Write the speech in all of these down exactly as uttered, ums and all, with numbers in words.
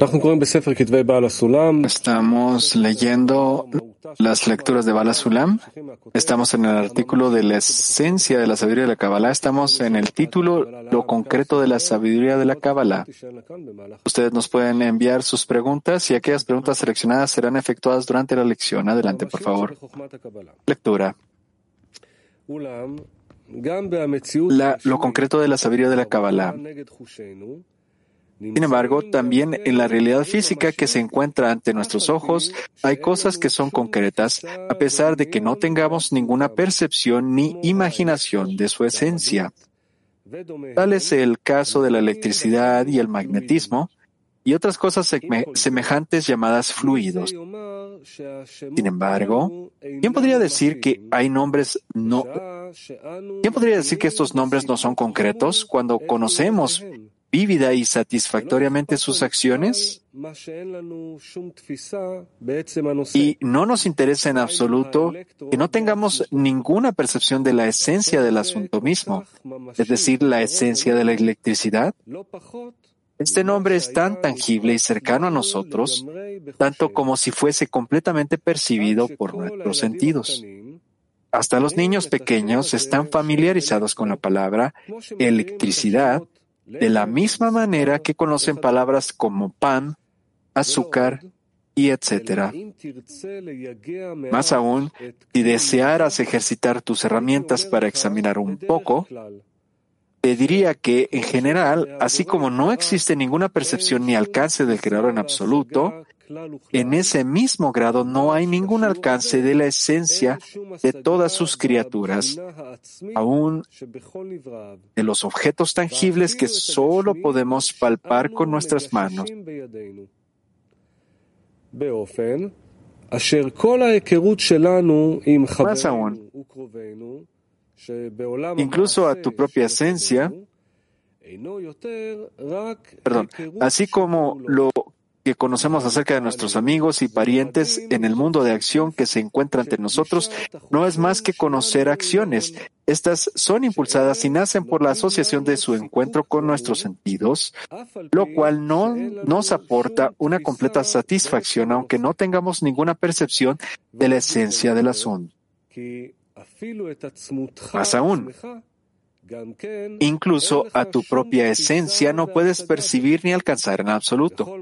Estamos leyendo las lecturas de Bala Sulam. Estamos en el artículo de la esencia de la sabiduría de la Kabbalah. Estamos en el título Lo concreto de la sabiduría de la Kabbalah. Ustedes nos pueden enviar sus preguntas y aquellas preguntas seleccionadas serán efectuadas durante la lección. Adelante, por favor. Lectura. La, lo concreto de la sabiduría de la Kabbalah. Sin embargo, también en la realidad física que se encuentra ante nuestros ojos, hay cosas que son concretas, a pesar de que no tengamos ninguna percepción ni imaginación de su esencia. Tal es el caso de la electricidad y el magnetismo, y otras cosas semejantes llamadas fluidos. Sin embargo, ¿quién podría decir que hay nombres no? ¿Quién podría decir que estos nombres no son concretos cuando conocemos vívida y satisfactoriamente sus acciones? Y no nos interesa en absoluto que no tengamos ninguna percepción de la esencia del asunto mismo, es decir, la esencia de la electricidad. Este nombre es tan tangible y cercano a nosotros, tanto como si fuese completamente percibido por nuestros sentidos. Hasta los niños pequeños están familiarizados con la palabra electricidad, de la misma manera que conocen palabras como pan, azúcar y etcétera. Más aún, si desearas ejercitar tus herramientas para examinar un poco, te diría que, en general, así como no existe ninguna percepción ni alcance del Creador en absoluto, en ese mismo grado no hay ningún alcance de la esencia de todas sus criaturas, aún de los objetos tangibles que solo podemos palpar con nuestras manos. Más aún, incluso a tu propia esencia, perdón, así como lo que conocemos acerca de nuestros amigos y parientes en el mundo de acción que se encuentra ante nosotros, no es más que conocer acciones. Estas son impulsadas y nacen por la asociación de su encuentro con nuestros sentidos, lo cual no nos aporta una completa satisfacción, aunque no tengamos ninguna percepción de la esencia del asunto. Más aún, incluso a tu propia esencia no puedes percibir ni alcanzar en absoluto.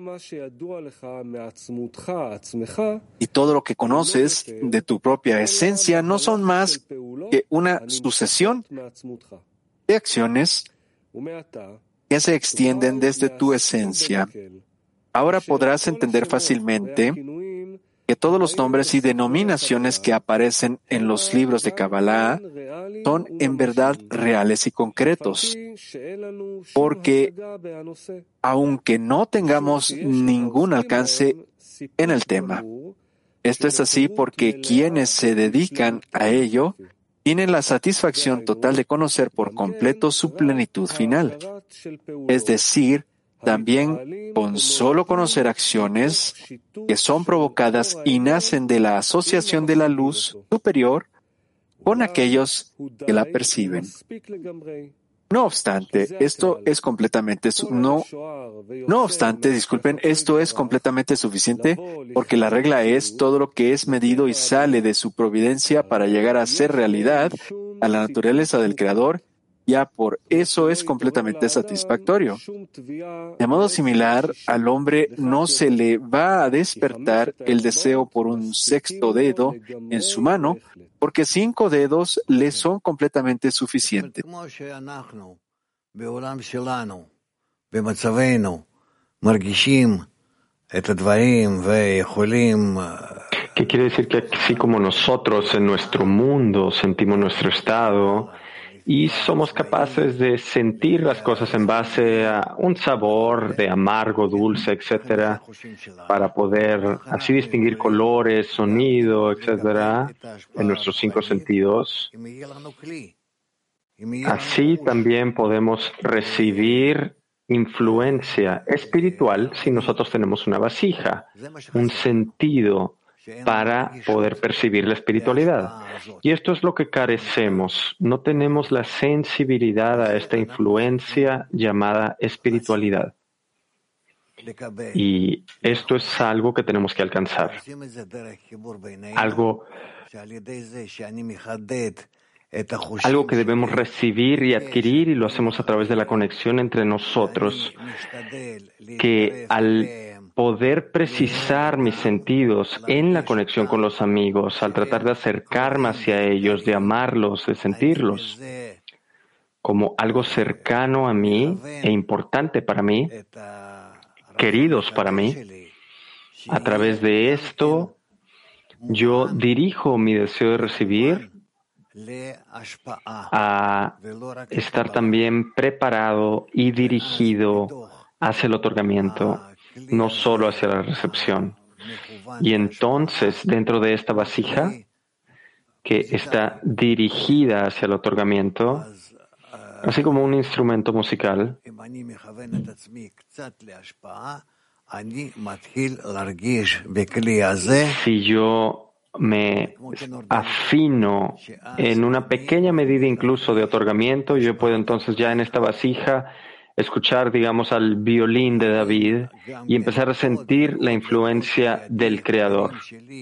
Y todo lo que conoces de tu propia esencia no son más que una sucesión de acciones que se extienden desde tu esencia. Ahora podrás entender fácilmente que todos los nombres y denominaciones que aparecen en los libros de Kabbalah son en verdad reales y concretos, porque aunque no tengamos ningún alcance en el tema, esto es así porque quienes se dedican a ello tienen la satisfacción total de conocer por completo su plenitud final, es decir, también con solo conocer acciones que son provocadas y nacen de la asociación de la luz superior con aquellos que la perciben. No obstante, esto es completamente su- no, no obstante, disculpen, esto es completamente suficiente porque la regla es todo lo que es medido y sale de su providencia para llegar a ser realidad a la naturaleza del Creador. Ya por eso es completamente satisfactorio. De modo similar, al hombre no se le va a despertar el deseo por un sexto dedo en su mano, porque cinco dedos le son completamente suficientes. ¿Qué quiere decir? Que así como nosotros en nuestro mundo sentimos nuestro estado, y somos capaces de sentir las cosas en base a un sabor de amargo, dulce, etcétera, para poder así distinguir colores, sonido, etcétera, en nuestros cinco sentidos. Así también podemos recibir influencia espiritual si nosotros tenemos una vasija, un sentido para poder percibir la espiritualidad. Y esto es lo que carecemos. No tenemos la sensibilidad a esta influencia llamada espiritualidad. Y esto es algo que tenemos que alcanzar. Algo, algo que debemos recibir y adquirir, y lo hacemos a través de la conexión entre nosotros, que al poder precisar mis sentidos en la conexión con los amigos, al tratar de acercarme hacia ellos, de amarlos, de sentirlos como algo cercano a mí e importante para mí, queridos para mí, a través de esto yo dirijo mi deseo de recibir a estar también preparado y dirigido hacia el otorgamiento, no solo hacia la recepción. Y entonces, dentro de esta vasija que está dirigida hacia el otorgamiento, así como un instrumento musical, si yo me afino en una pequeña medida incluso de otorgamiento, yo puedo entonces ya en esta vasija escuchar, digamos, al violín de David y empezar a sentir la influencia del Creador.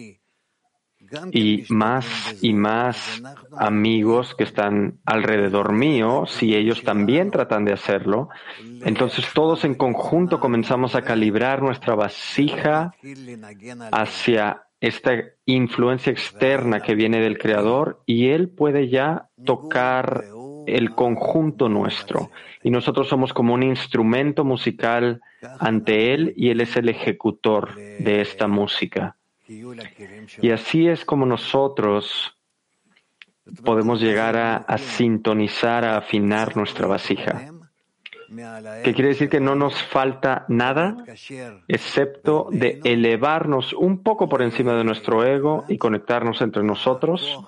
Y más y más amigos que están alrededor mío, si ellos también tratan de hacerlo, entonces todos en conjunto comenzamos a calibrar nuestra vasija hacia esta influencia externa que viene del Creador, y Él puede ya tocar el conjunto nuestro. Y nosotros somos como un instrumento musical ante Él, y Él es el ejecutor de esta música. Y así es como nosotros podemos llegar a, a sintonizar, a afinar nuestra vasija. ¿Qué quiere decir? Que no nos falta nada, excepto de elevarnos un poco por encima de nuestro ego y conectarnos entre nosotros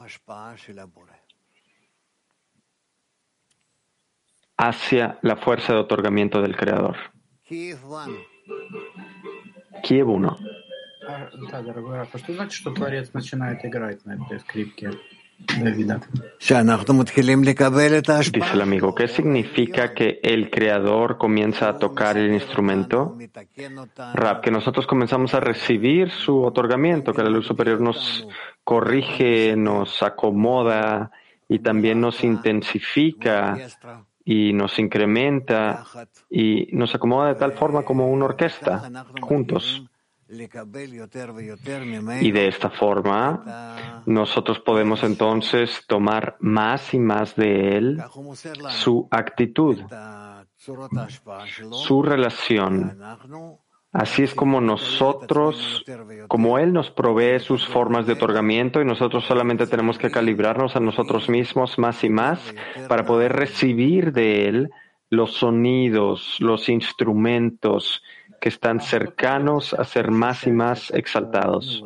hacia la fuerza de otorgamiento del Creador. Kiev uno. Да, дорогой Раф, а что значит, что Творец начинает играть на этой скрипке Давида? Dice el amigo, ¿qué significa que el Creador comienza a tocar el instrumento? Rab, que nosotros comenzamos a recibir su otorgamiento, que la luz superior nos corrige, nos acomoda y también nos intensifica y nos incrementa y nos acomoda de tal forma como una orquesta, juntos. Y de esta forma, nosotros podemos entonces tomar más y más de él, su actitud, su relación. Así es como nosotros, como él nos provee sus formas de otorgamiento, y nosotros solamente tenemos que calibrarnos a nosotros mismos más y más para poder recibir de él los sonidos, los instrumentos que están cercanos a ser más y más exaltados.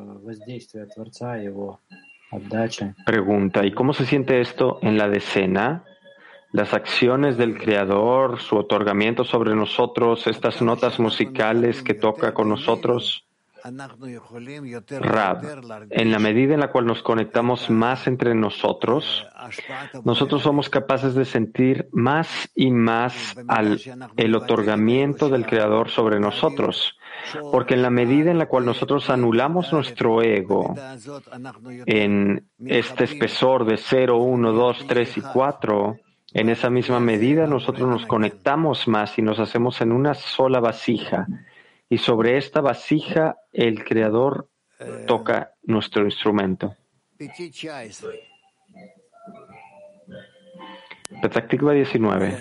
Pregunta, ¿y cómo se siente esto en la decena? Las acciones del Creador, su otorgamiento sobre nosotros, estas notas musicales que toca con nosotros. Rab, en la medida en la cual nos conectamos más entre nosotros, nosotros somos capaces de sentir más y más al, el otorgamiento del Creador sobre nosotros, porque en la medida en la cual nosotros anulamos nuestro ego en este espesor de cero, uno, dos, tres y cuatro, en esa misma medida nosotros nos conectamos más y nos hacemos en una sola vasija. Y sobre esta vasija el Creador toca nuestro instrumento. Petah Tikva diecinueve.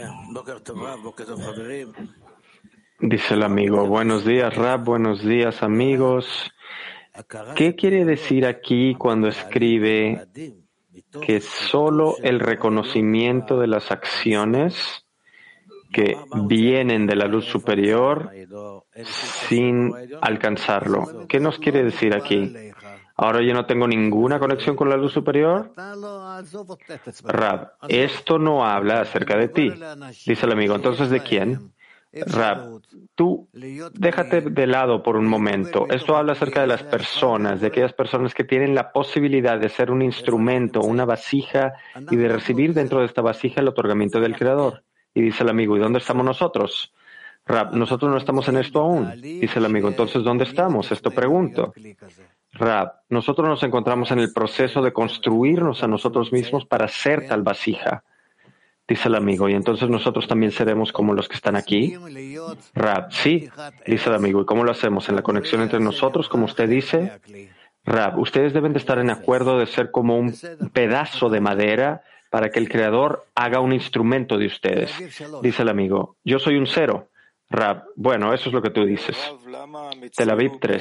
Dice el amigo, buenos días Rab, buenos días amigos. ¿Qué quiere decir aquí cuando escribe que solo el reconocimiento de las acciones que vienen de la luz superior sin alcanzarlo? ¿Qué nos quiere decir aquí? ¿Ahora yo no tengo ninguna conexión con la luz superior? Rab, esto no habla acerca de ti. Dice el amigo, ¿entonces de quién? Rab, tú déjate de lado por un momento. Esto habla acerca de las personas, de aquellas personas que tienen la posibilidad de ser un instrumento, una vasija, y de recibir dentro de esta vasija el otorgamiento del Creador. Y dice el amigo, ¿y dónde estamos nosotros? Rab, nosotros no estamos en esto aún, dice el amigo. Entonces, ¿dónde estamos? Esto pregunto. Rab, nosotros nos encontramos en el proceso de construirnos a nosotros mismos para ser tal vasija, dice el amigo. Y entonces nosotros también seremos como los que están aquí. Rab, sí, dice el amigo. ¿Y cómo lo hacemos? ¿En la conexión entre nosotros, como usted dice? Rab, ustedes deben de estar en acuerdo de ser como un pedazo de madera para que el Creador haga un instrumento de ustedes. Dice el amigo, yo soy un cero. Rab, bueno, eso es lo que tú dices. Tel Aviv tres.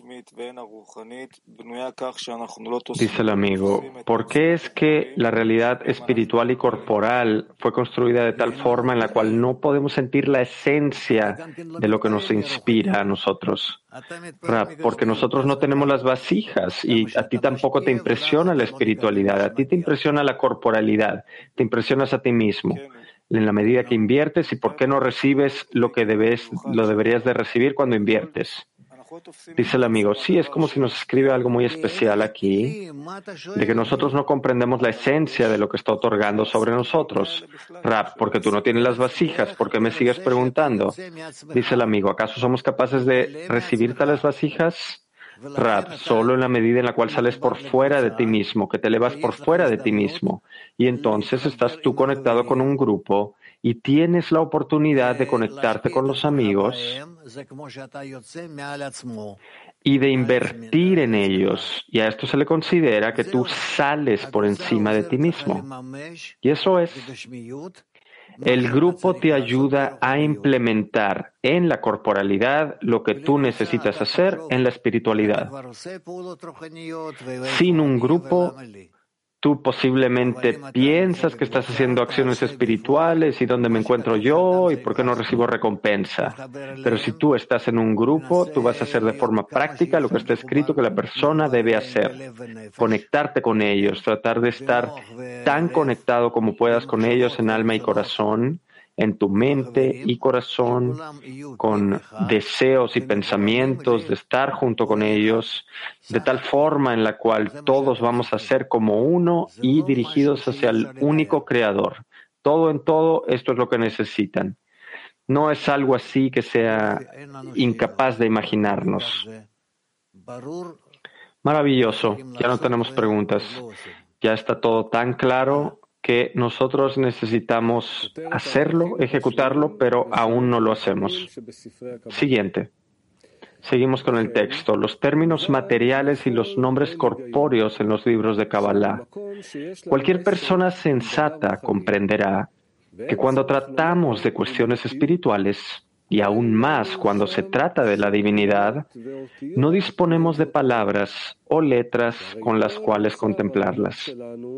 Dice el amigo, ¿por qué es que la realidad espiritual y corporal fue construida de tal forma en la cual no podemos sentir la esencia de lo que nos inspira a nosotros? Rab, porque nosotros no tenemos las vasijas y a ti tampoco te impresiona la espiritualidad, a ti te impresiona la corporalidad, te impresionas a ti mismo. En la medida que inviertes y por qué no recibes lo que debes, lo deberías de recibir cuando inviertes. Dice el amigo, sí, es como si nos escribe algo muy especial aquí, de que nosotros no comprendemos la esencia de lo que está otorgando sobre nosotros. Rab, porque tú no tienes las vasijas, ¿por qué me sigues preguntando? Dice el amigo, ¿acaso somos capaces de recibir tales vasijas? Rab, solo en la medida en la cual sales por fuera de ti mismo, que te elevas por fuera de ti mismo, y entonces estás tú conectado con un grupo y tienes la oportunidad de conectarte con los amigos y de invertir en ellos, y a esto se le considera que tú sales por encima de ti mismo. Y eso es. El grupo te ayuda a implementar en la corporalidad lo que tú necesitas hacer en la espiritualidad. Sin un grupo, tú posiblemente piensas que estás haciendo acciones espirituales y dónde me encuentro yo y por qué no recibo recompensa. Pero si tú estás en un grupo, tú vas a hacer de forma práctica lo que está escrito que la persona debe hacer. Conectarte con ellos, tratar de estar tan conectado como puedas con ellos en alma y corazón, en tu mente y corazón, con deseos y pensamientos de estar junto con ellos, de tal forma en la cual todos vamos a ser como uno y dirigidos hacia el único Creador. Todo en todo, esto es lo que necesitan. No es algo así que sea incapaz de imaginarnos. Maravilloso, ya no tenemos preguntas. Ya está todo tan claro que nosotros necesitamos hacerlo, ejecutarlo, pero aún no lo hacemos. Siguiente. Seguimos con el texto. Los términos materiales y los nombres corpóreos en los libros de Kabbalah. Cualquier persona sensata comprenderá que cuando tratamos de cuestiones espirituales, y aún más cuando se trata de la divinidad, no disponemos de palabras o letras con las cuales contemplarlas.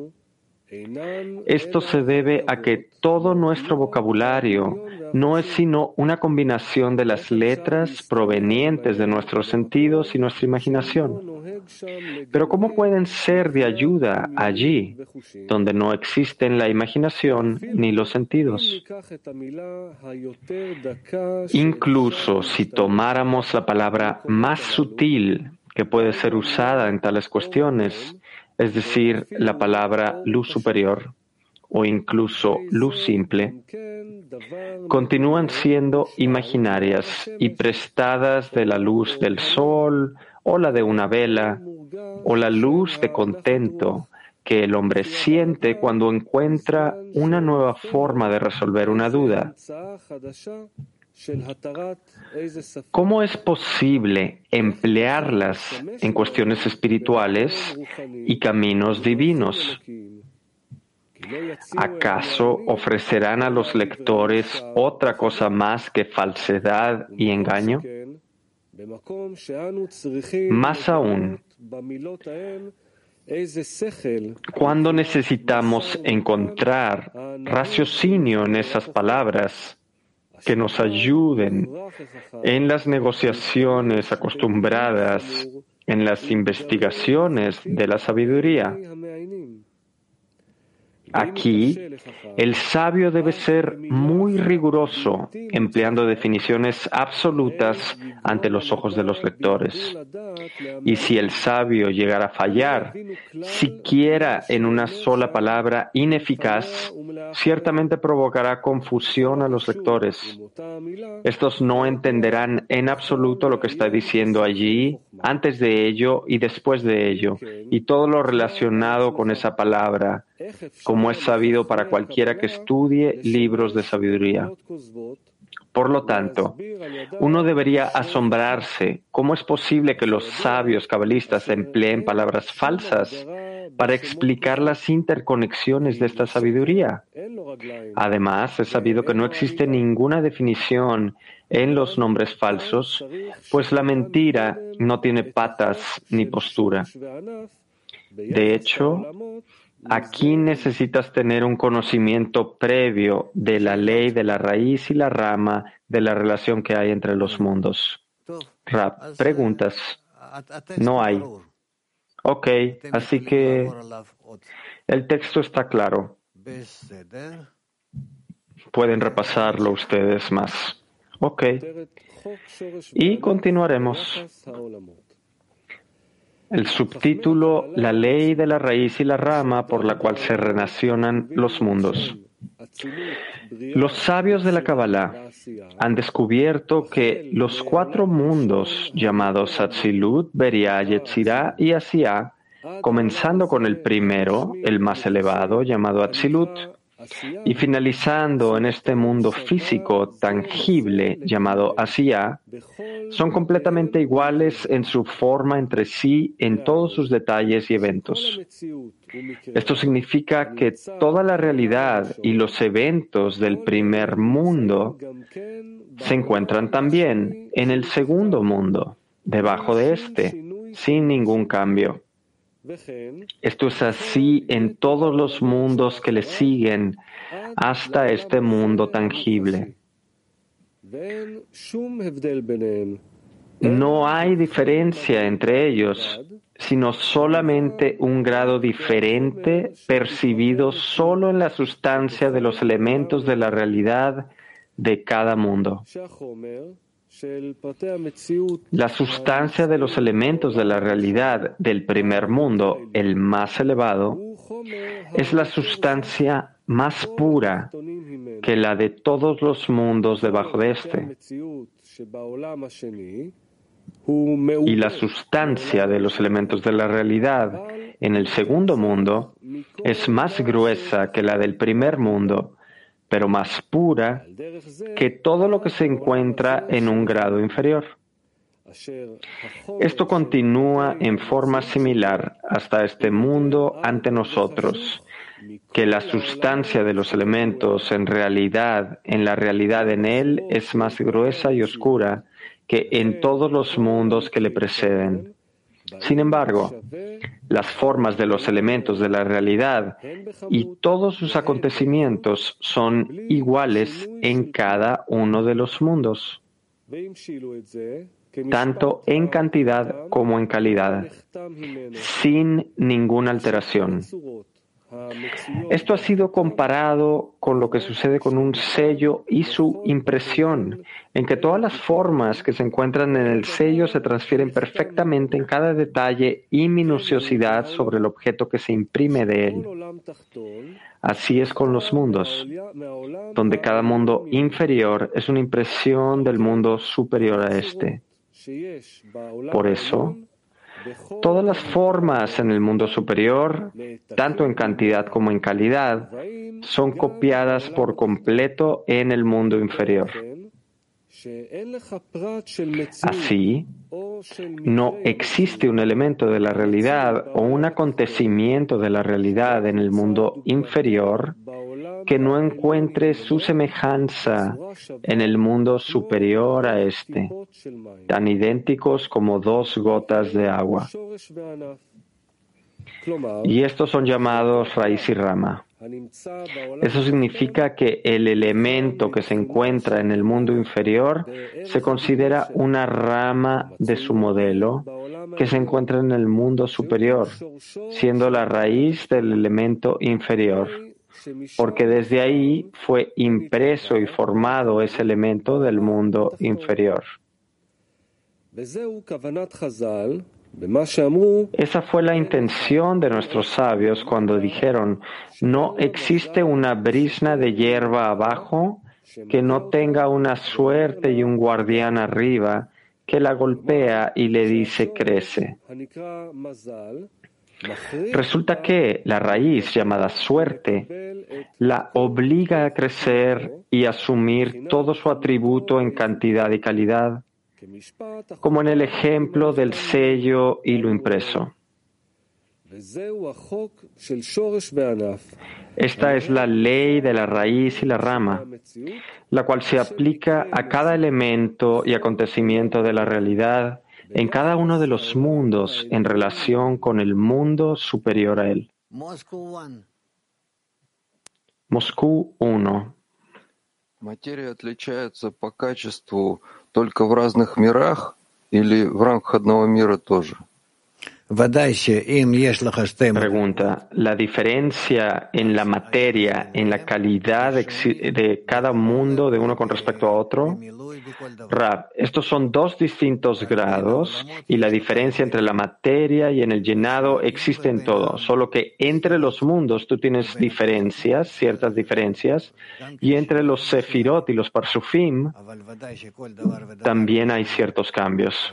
Esto se debe a que todo nuestro vocabulario no es sino una combinación de las letras provenientes de nuestros sentidos y nuestra imaginación. Pero ¿cómo pueden ser de ayuda allí donde no existen la imaginación ni los sentidos? Incluso si tomáramos la palabra más sutil que puede ser usada en tales cuestiones, es decir, la palabra luz superior o incluso luz simple, continúan siendo imaginarias y prestadas de la luz del sol o la de una vela o la luz de contento que el hombre siente cuando encuentra una nueva forma de resolver una duda. ¿Cómo es posible emplearlas en cuestiones espirituales y caminos divinos? ¿Acaso ofrecerán a los lectores otra cosa más que falsedad y engaño? Más aún, cuando necesitamos encontrar raciocinio en esas palabras, que nos ayuden en las negociaciones acostumbradas, en las investigaciones de la sabiduría. Aquí, el sabio debe ser muy riguroso, empleando definiciones absolutas ante los ojos de los lectores. Y si el sabio llegara a fallar, siquiera en una sola palabra ineficaz, ciertamente provocará confusión a los lectores. Estos no entenderán en absoluto lo que está diciendo allí, antes de ello y después de ello, y todo lo relacionado con esa palabra, como es sabido para cualquiera que estudie libros de sabiduría. Por lo tanto, uno debería asombrarse cómo es posible que los sabios cabalistas empleen palabras falsas para explicar las interconexiones de esta sabiduría. Además, es sabido que no existe ninguna definición en los nombres falsos, pues la mentira no tiene patas ni postura. De hecho, aquí necesitas tener un conocimiento previo de la ley de la raíz y la rama de la relación que hay entre los mundos. Rab, preguntas. No hay. Ok, así que el texto está claro. Pueden repasarlo ustedes más. Ok. Y continuaremos. El subtítulo, la ley de la raíz y la rama por la cual se relacionan los mundos. Los sabios de la Kabbalah han descubierto que los cuatro mundos llamados Atzilut, Beriah, Yetzirah y Asiah, comenzando con el primero, el más elevado, llamado Atzilut, y finalizando en este mundo físico tangible llamado Asiah, son completamente iguales en su forma entre sí en todos sus detalles y eventos. Esto significa que toda la realidad y los eventos del primer mundo se encuentran también en el segundo mundo, debajo de este, sin ningún cambio. Esto es así en todos los mundos que le siguen hasta este mundo tangible. No hay diferencia entre ellos, sino solamente un grado diferente percibido solo en la sustancia de los elementos de la realidad de cada mundo. La sustancia de los elementos de la realidad del primer mundo, el más elevado, es la sustancia más pura que la de todos los mundos debajo de este. Y la sustancia de los elementos de la realidad en el segundo mundo es más gruesa que la del primer mundo, pero más pura que todo lo que se encuentra en un grado inferior. Esto continúa en forma similar hasta este mundo ante nosotros, que la sustancia de los elementos en realidad, en la realidad en él, es más gruesa y oscura que en todos los mundos que le preceden. Sin embargo, las formas de los elementos de la realidad y todos sus acontecimientos son iguales en cada uno de los mundos, tanto en cantidad como en calidad, sin ninguna alteración. Esto ha sido comparado con lo que sucede con un sello y su impresión, en que todas las formas que se encuentran en el sello se transfieren perfectamente en cada detalle y minuciosidad sobre el objeto que se imprime de él. Así es con los mundos, donde cada mundo inferior es una impresión del mundo superior a este. Por eso, todas las formas en el mundo superior, tanto en cantidad como en calidad, son copiadas por completo en el mundo inferior. Así, no existe un elemento de la realidad o un acontecimiento de la realidad en el mundo inferior que no encuentre su semejanza en el mundo superior a este, tan idénticos como dos gotas de agua. Y estos son llamados raíz y rama. Eso significa que el elemento que se encuentra en el mundo inferior se considera una rama de su modelo que se encuentra en el mundo superior, siendo la raíz del elemento inferior, porque desde ahí fue impreso y formado ese elemento del mundo inferior. Esa fue la intención de nuestros sabios cuando dijeron: no existe una brizna de hierba abajo que no tenga una suerte y un guardián arriba que la golpea y le dice crece. Resulta que la raíz llamada suerte la obliga a crecer y asumir todo su atributo en cantidad y calidad, como en el ejemplo del sello y lo impreso. Esta es la ley de la raíz y la rama, la cual se aplica a cada elemento y acontecimiento de la realidad en cada uno de los mundos en relación con el mundo superior a él. Moscú uno. Материя отличается по качеству только в разных мирах или в рамках одного мира тоже? Pregunta, ¿la diferencia en la materia, en la calidad de cada mundo de uno con respecto a otro? Rab, estos son dos distintos grados y la diferencia entre la materia y en el llenado existe en todo, solo que entre los mundos tú tienes diferencias, ciertas diferencias, y entre los sefirot y los parsufim también hay ciertos cambios.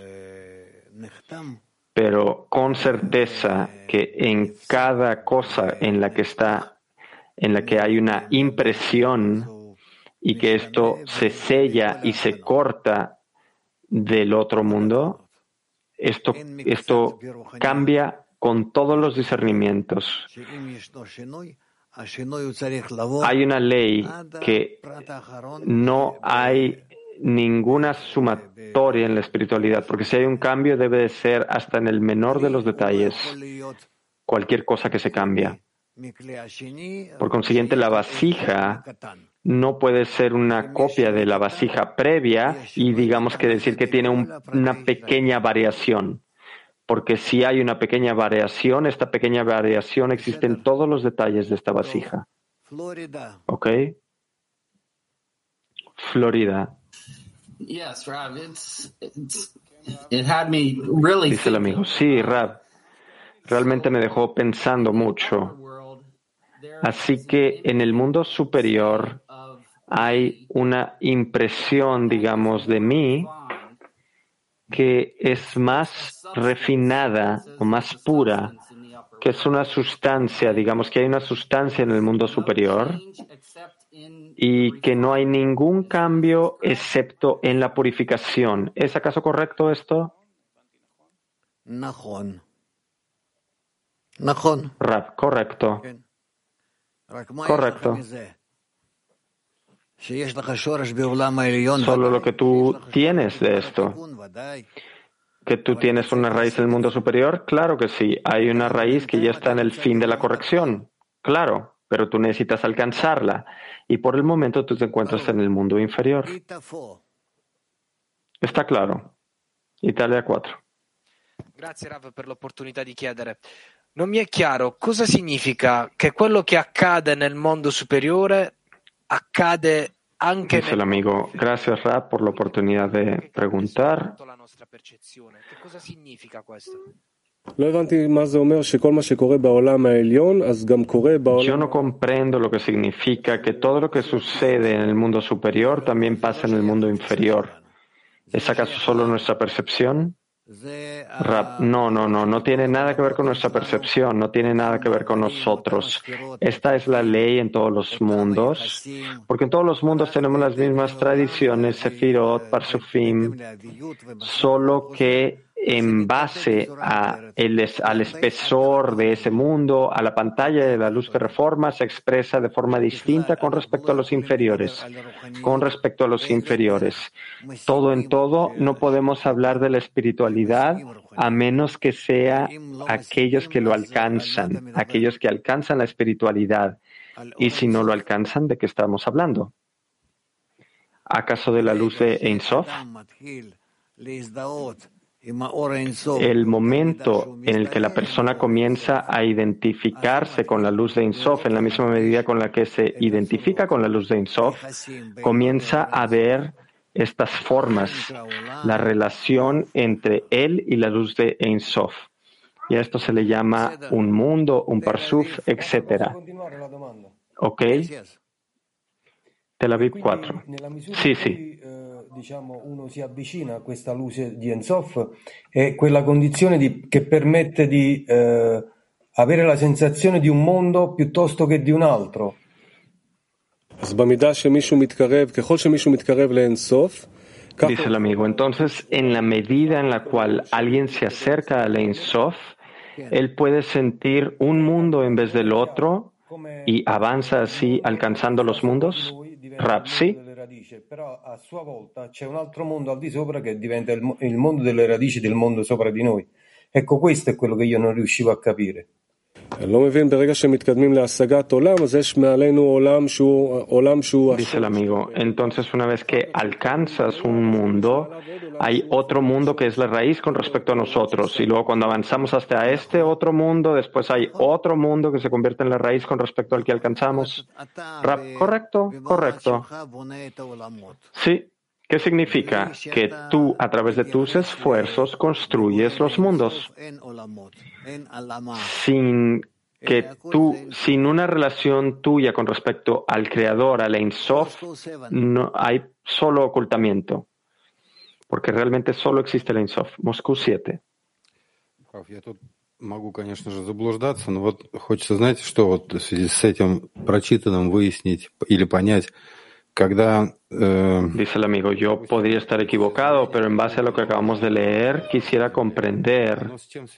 Pero con certeza que en cada cosa en la que está, en la que hay una impresión y que esto se sella y se corta del otro mundo, esto, esto cambia con todos los discernimientos. Hay una ley que no hay ninguna sumatoria en la espiritualidad, porque si hay un cambio debe de ser hasta en el menor de los detalles, cualquier cosa que se cambia. Por consiguiente, la vasija no puede ser una copia de la vasija previa y digamos que decir que tiene un, una pequeña variación, porque si hay una pequeña variación, esta pequeña variación existe en todos los detalles de esta vasija. ¿Ok? Florida. Yes, Rav, it's, it's, it had me really Dice el amigo, sí, Rab, realmente me dejó pensando mucho. Así que en el mundo superior hay una impresión, digamos, de mí que es más refinada o más pura, que es una sustancia, digamos que hay una sustancia en el mundo superior y que no hay ningún cambio excepto en la purificación. ¿Es acaso correcto esto? Rab, correcto. Correcto. Solo lo que tú tienes de esto. ¿Que tú tienes una raíz en el mundo superior? Claro que sí. Hay una raíz que ya está en el fin de la corrección. Claro. Pero tú necesitas alcanzarla. Y por el momento tú te encuentras en el mundo inferior. Está claro. Italia cuatro. Grazie Rav per l'opportunità di chiedere. Non mi è chiaro cosa significa che quello che accade nel mondo superiore accade anche Dice el amigo, gracias Rav por la oportunidad de preguntar. la nostra percezione. Che cosa significa questo? Yo no comprendo lo que significa que todo lo que sucede en el mundo superior también pasa en el mundo inferior. ¿Es acaso solo nuestra percepción? Rab, no, no, no, no tiene nada que ver con nuestra percepción, no tiene nada que ver con nosotros. Esta es la ley en todos los mundos, porque en todos los mundos tenemos las mismas tradiciones, Sefirot, Parsufim, solo que en base a el, al espesor de ese mundo, a la pantalla de la luz que reforma, se expresa de forma distinta con respecto a los inferiores. Con respecto a los inferiores. Todo en todo, no podemos hablar de la espiritualidad a menos que sea aquellos que lo alcanzan, aquellos que alcanzan la espiritualidad. Y si no lo alcanzan, ¿de qué estamos hablando? ¿Acaso de la luz de Ein Sof? El momento en el que la persona comienza a identificarse con la luz de Ein Sof, en la misma medida con la que se identifica con la luz de Ein Sof, comienza a ver estas formas, la relación entre él y la luz de Ein Sof. Y a esto se le llama un mundo, un parsuf, etcétera. ¿Ok? Tel Aviv cuatro. Sí, sí. Diciamo, uno si avvicina a questa luce di Ein Sof, è quella condizione di, che permette di eh, avere la sensazione di un mondo piuttosto che di un altro. Dice el amigo, entonces, en la medida en la cual alguien se acerca al Ein Sof, él puede sentir un mundo en vez del otro y avanza así alcanzando los mundos. Rab, sí. Però a sua volta c'è un altro mondo al di sopra che diventa il, il mondo delle radici del mondo sopra di noi. Ecco, questo è quello che io non riuscivo a capire. Dice el amigo, entonces una vez que alcanzas un mundo, hay otro mundo que es la raíz con respecto a nosotros. Y luego cuando avanzamos hasta este otro mundo, después hay otro mundo que se convierte en la raíz con respecto al que alcanzamos. Rab, correcto, correcto. Sí. ¿Qué significa? Que tú, a través de tus esfuerzos, construyes los mundos. Sin que tú, sin una relación tuya con respecto al Creador, al Ein Sof, no hay solo ocultamiento. Porque realmente solo existe el Ein Sof. Moscú siete. Я тут могу, конечно же, заблуждаться, но вот хочется, знаете, что вот в связи с этим прочитанным выяснить или понять. Dice el amigo, yo podría estar equivocado, pero en base a lo que acabamos de leer, quisiera comprender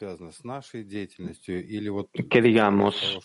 que, digamos,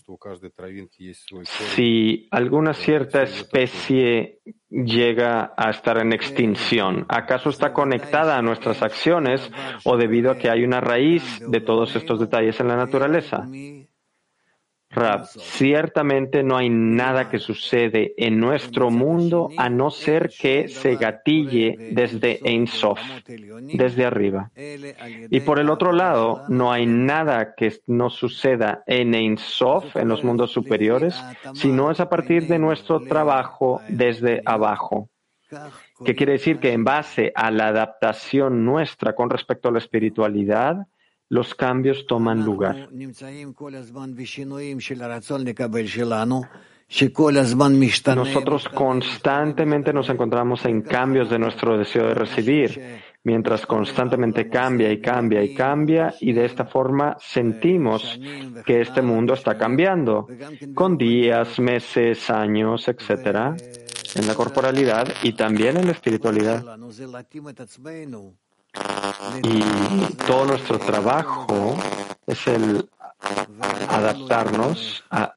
si alguna cierta especie llega a estar en extinción, ¿acaso está conectada a nuestras acciones o debido a que hay una raíz de todos estos detalles en la naturaleza? Rab, ciertamente no hay nada que sucede en nuestro mundo a no ser que se gatille desde Ein Sof, desde arriba. Y por el otro lado, no hay nada que no suceda en Ein Sof, en los mundos superiores, sino es a partir de nuestro trabajo desde abajo. ¿Qué quiere decir? Que en base a la adaptación nuestra con respecto a la espiritualidad, los cambios toman lugar. Nosotros constantemente nos encontramos en cambios de nuestro deseo de recibir, mientras constantemente cambia y cambia y cambia, y de esta forma sentimos que este mundo está cambiando, con días, meses, años, etcétera, en la corporalidad y también en la espiritualidad. Y todo nuestro trabajo es el adaptarnos a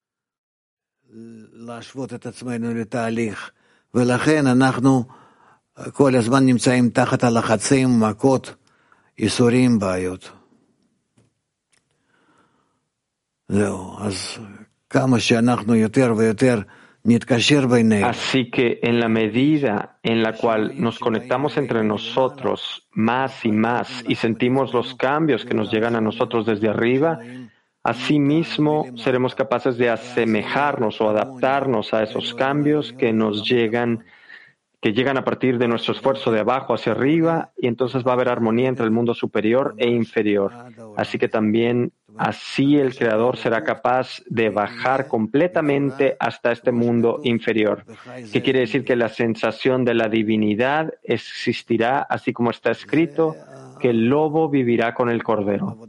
Así que en la medida en la cual nos conectamos entre nosotros más y más y sentimos los cambios que nos llegan a nosotros desde arriba, asimismo seremos capaces de asemejarnos o adaptarnos a esos cambios que nos llegan, que llegan a partir de nuestro esfuerzo de abajo hacia arriba, y entonces va a haber armonía entre el mundo superior e inferior. Así que también así el Creador será capaz de bajar completamente hasta este mundo inferior. ¿Qué quiere decir? Que la sensación de la divinidad existirá, así como está escrito, que el lobo vivirá con el cordero.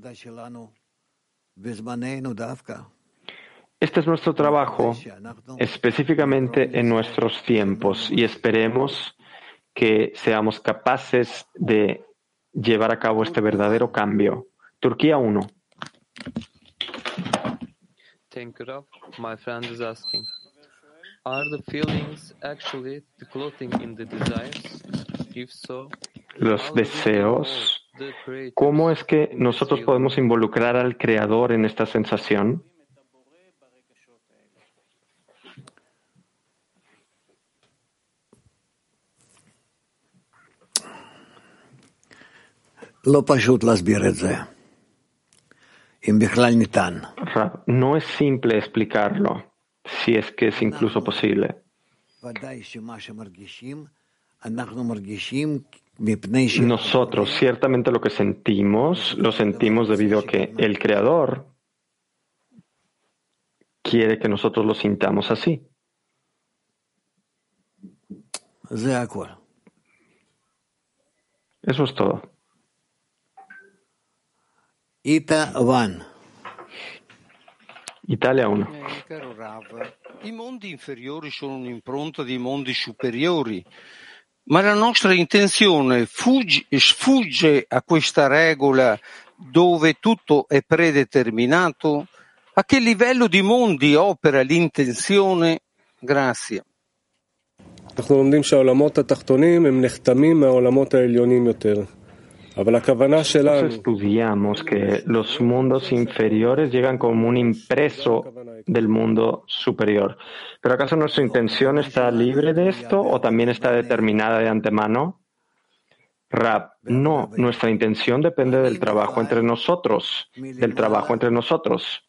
Este es nuestro trabajo, específicamente en nuestros tiempos, y esperemos que seamos capaces de llevar a cabo este verdadero cambio. Turquía uno. Thank you, Rav. My friend is asking, are the feelings actually the clothing in the desires? If so, los deseos, ¿cómo es que nosotros podemos involucrar al Creador en esta sensación? No es simple explicarlo, si es que es incluso posible. Nosotros, ciertamente lo que sentimos, lo sentimos debido a que el Creador quiere que nosotros lo sintamos así. Eso es todo. Italia uno. Eh, caro Rav, i mondi inferiori sono un'impronta dei mondi superiori, ma la nostra intenzione fugge, sfugge a questa regola dove tutto è predeterminato? A che livello di mondi opera l'intenzione? Grazie. אנחנו לומדים שהעולמות התחתונים הם נחתמים מהעולמות העליונים יותר. אבל הכוונה שלנו... Nosotros estudiamos que los mundos inferiores llegan como un impreso del mundo superior. ¿Pero acaso nuestra intención está libre de esto o también está determinada de antemano? Rab, no, nuestra intención depende del trabajo entre nosotros, del trabajo entre nosotros.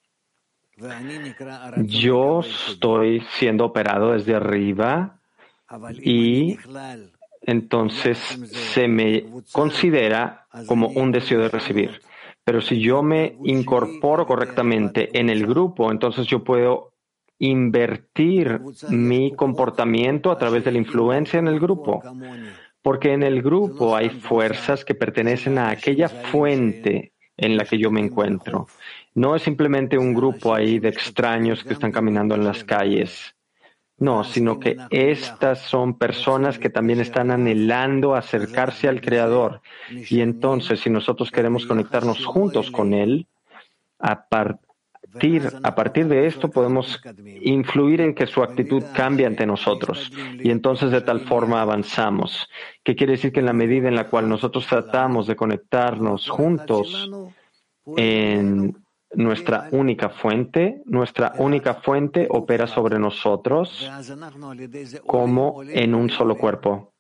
Yo estoy siendo operado desde arriba y entonces se me considera como un deseo de recibir. Pero si yo me incorporo correctamente en el grupo, entonces yo puedo invertir mi comportamiento a través de la influencia en el grupo. Porque en el grupo hay fuerzas que pertenecen a aquella fuente en la que yo me encuentro. No es simplemente un grupo ahí de extraños que están caminando en las calles. No, sino que estas son personas que también están anhelando acercarse al Creador. Y entonces, si nosotros queremos conectarnos juntos con Él, a partir, a partir de esto podemos influir en que su actitud cambie ante nosotros. Y entonces de tal forma avanzamos. ¿Qué quiere decir? Que en la medida en la cual nosotros tratamos de conectarnos juntos en nuestra única fuente, nuestra única fuente opera sobre nosotros como en un solo cuerpo.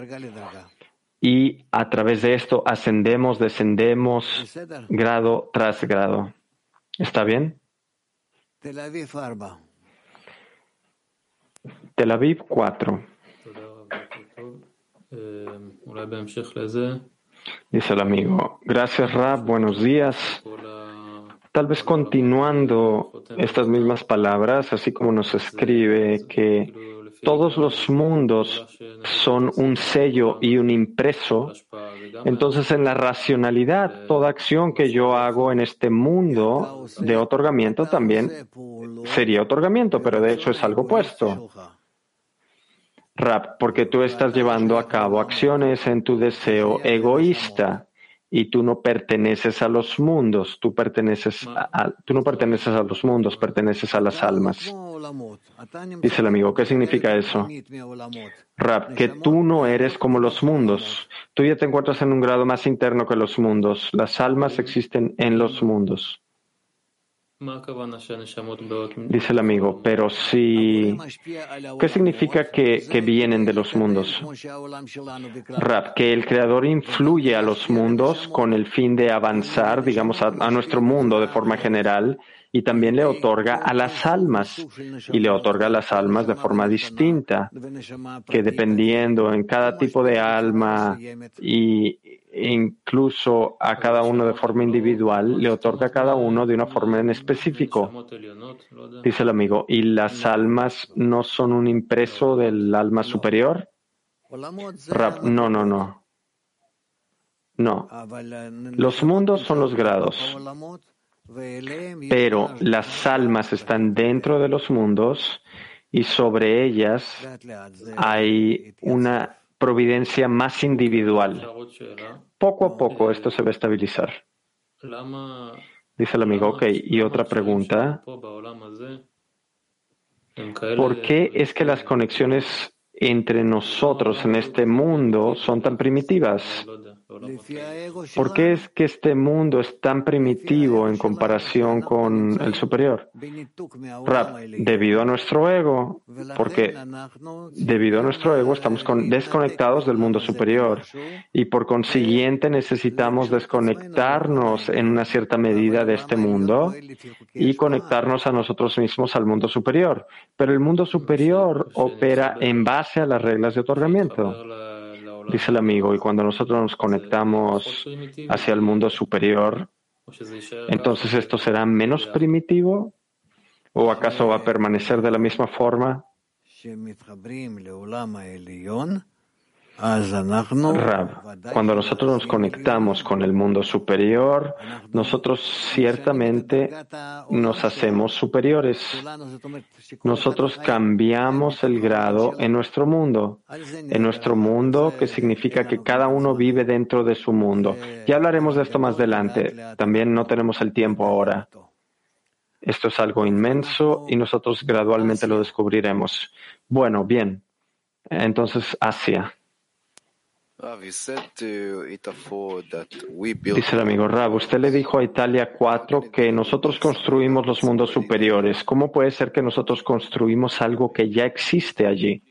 Y a través de esto ascendemos, descendemos, grado tras grado. ¿Está bien? Tel Aviv cuatro. Dice el amigo, gracias Rab, buenos días. Tal vez continuando estas mismas palabras, así como nos escribe que todos los mundos son un sello y un impreso, entonces en la racionalidad, toda acción que yo hago en este mundo de otorgamiento también sería otorgamiento, pero de hecho es algo opuesto. Rab, porque tú estás llevando a cabo acciones en tu deseo egoísta. Y tú no perteneces a los mundos, tú perteneces a, a, tú no perteneces a los mundos, perteneces a las almas. Dice el amigo, ¿qué significa eso? Rab, que tú no eres como los mundos. Tú ya te encuentras en un grado más interno que los mundos. Las almas existen en los mundos. Dice el amigo, pero si... ¿Qué significa que, que vienen de los mundos? Rab, que el Creador influye a los mundos con el fin de avanzar, digamos, a, a nuestro mundo de forma general, y también le otorga a las almas, y le otorga a las almas de forma distinta, que dependiendo en cada tipo de alma y incluso a cada uno de forma individual, le otorga a cada uno de una forma en específico. Dice el amigo, ¿y las almas no son un impreso del alma superior? Rab, no, no, no. No. Los mundos son los grados. Pero las almas están dentro de los mundos y sobre ellas hay una providencia más individual. Poco a poco esto se va a estabilizar. Dice el amigo, ok, y otra pregunta. ¿Por qué es que las conexiones entre nosotros en este mundo son tan primitivas? ¿Por qué es que este mundo es tan primitivo en comparación con el superior? Rab, debido a nuestro ego, porque debido a nuestro ego estamos con, desconectados del mundo superior y por consiguiente necesitamos desconectarnos en una cierta medida de este mundo y conectarnos a nosotros mismos al mundo superior. Pero el mundo superior opera en base a las reglas de otorgamiento. Dice el amigo, y cuando nosotros nos conectamos hacia el mundo superior, entonces esto será menos primitivo, ¿o acaso va a permanecer de la misma forma? Rab, cuando nosotros nos conectamos con el mundo superior, nosotros ciertamente nos hacemos superiores. Nosotros cambiamos el grado en nuestro mundo. En nuestro mundo, que significa que cada uno vive dentro de su mundo. Ya hablaremos de esto más adelante. También no tenemos el tiempo ahora. Esto es algo inmenso y nosotros gradualmente lo descubriremos. Bueno, bien. Entonces, Asia. Dice el amigo Rab, usted le dijo a Italia cuatro que nosotros construimos los mundos superiores. ¿Cómo puede ser que nosotros construimos algo que ya existe allí?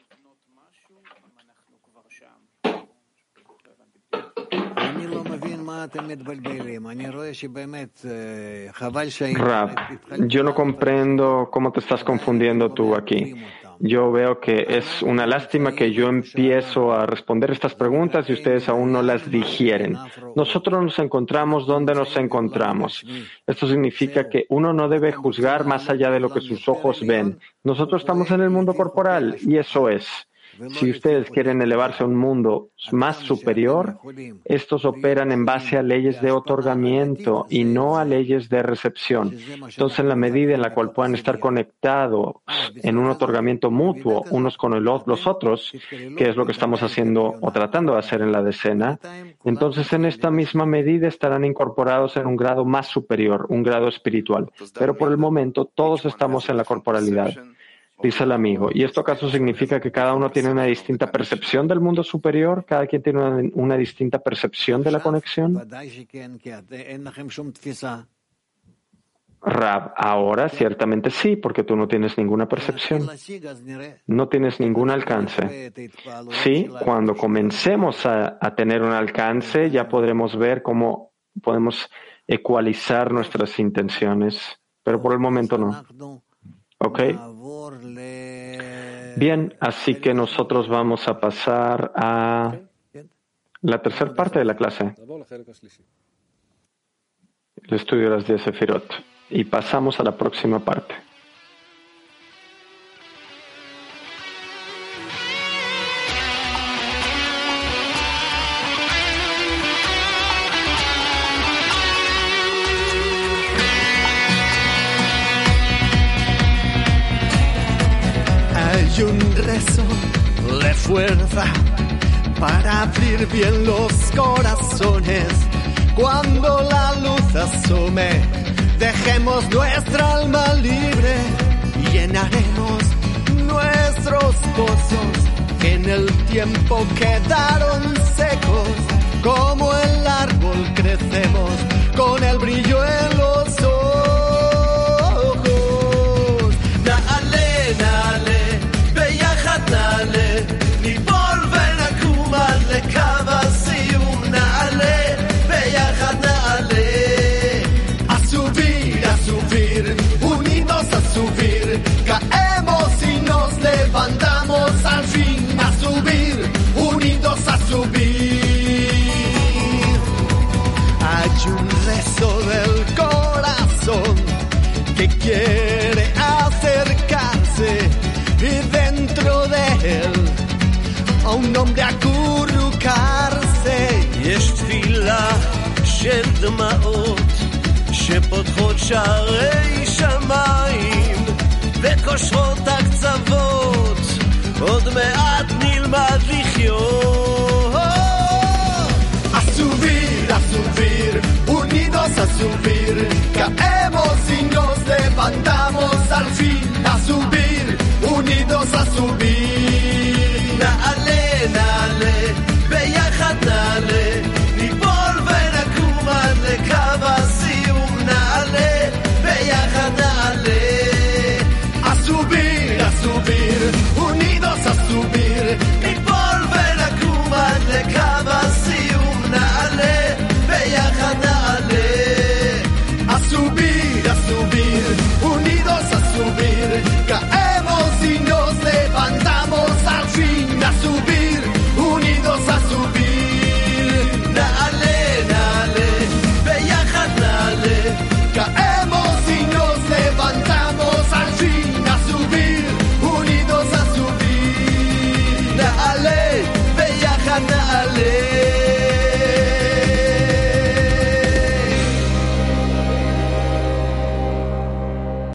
Rab, yo no comprendo cómo te estás confundiendo tú aquí. Yo veo que es una lástima que yo empiezo a responder estas preguntas y ustedes aún no las digieren. Nosotros nos encontramos donde nos encontramos. Esto significa que uno no debe juzgar más allá de lo que sus ojos ven. Nosotros estamos en el mundo corporal y eso es. Si ustedes quieren elevarse a un mundo más superior, estos operan en base a leyes de otorgamiento y no a leyes de recepción. Entonces, en la medida en la cual puedan estar conectados en un otorgamiento mutuo unos con el, los otros, que es lo que estamos haciendo o tratando de hacer en la decena, entonces en esta misma medida estarán incorporados en un grado más superior, un grado espiritual. Pero por el momento todos estamos en la corporalidad. Dice el amigo, ¿y esto acaso significa que cada uno tiene una distinta percepción del mundo superior? ¿Cada quien tiene una, una distinta percepción de la conexión? Rab, ahora ciertamente sí, porque tú no tienes ninguna percepción. No tienes ningún alcance. Sí, cuando comencemos a, a tener un alcance, ya podremos ver cómo podemos ecualizar nuestras intenciones, pero por el momento no. ¿Ok? Bien, así que nosotros vamos a pasar a la tercera parte de la clase, el estudio de las diez Sefirot, y pasamos a la próxima parte. Y un rezo de fuerza para abrir bien los corazones. Cuando la luz asome, dejemos nuestra alma libre y llenaremos nuestros pozos que en el tiempo quedaron secos. Como el árbol crecemos con el brillo en los ojos. Dale, dale. נעלה, ניפול ונקום עד לקו הסיום. נעלה, ביחד נעלה. A subir, a subir, unidos a subir. Caemos y nos levantamos al fin. A subir, unidos a subir. Hay un rezo del corazón que quiere acercarse y dentro de él a un hombre acurrucarse. יש תפילה של דמעות שפותחות שערי שמיים וקושרות הקצוות, עוד מעט נלמד לחיות.